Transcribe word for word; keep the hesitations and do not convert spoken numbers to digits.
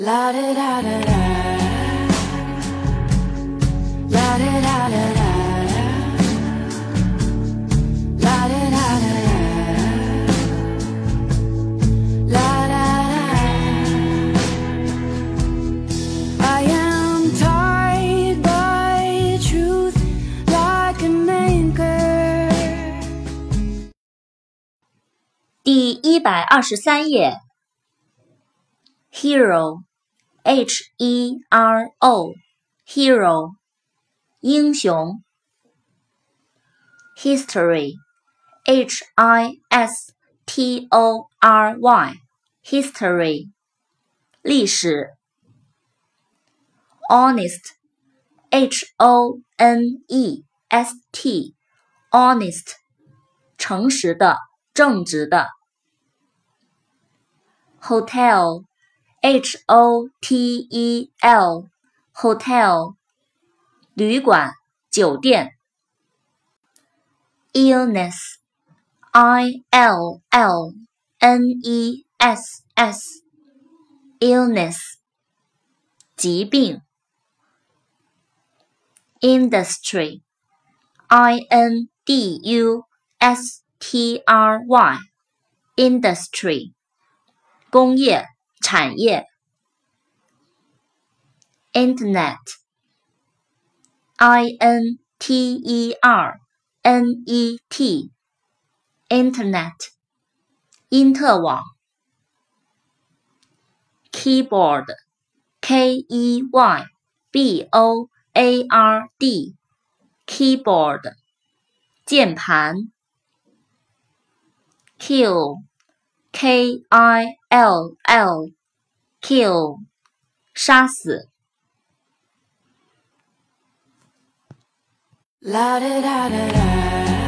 La da da da da. La da da da da. La da da da da. La da da. I am tied by truth like an anchor. 第一百二十三页 Hero H E R O Hero 英雄 History H I S T O R Y History 历史 Honest H O N E S T Honest 诚实的正直的 Hotel H O T E L Hotel 旅馆酒店 Illness I L L N E S S Illness 疾病 Industry I N D U S T R Y Industry 工业产业 Internet I N T E R N E T Internet 因特网 Keyboard K E Y B O A R D Keyboard 键盘 Kill K I L L Kill 杀死 La da da da da.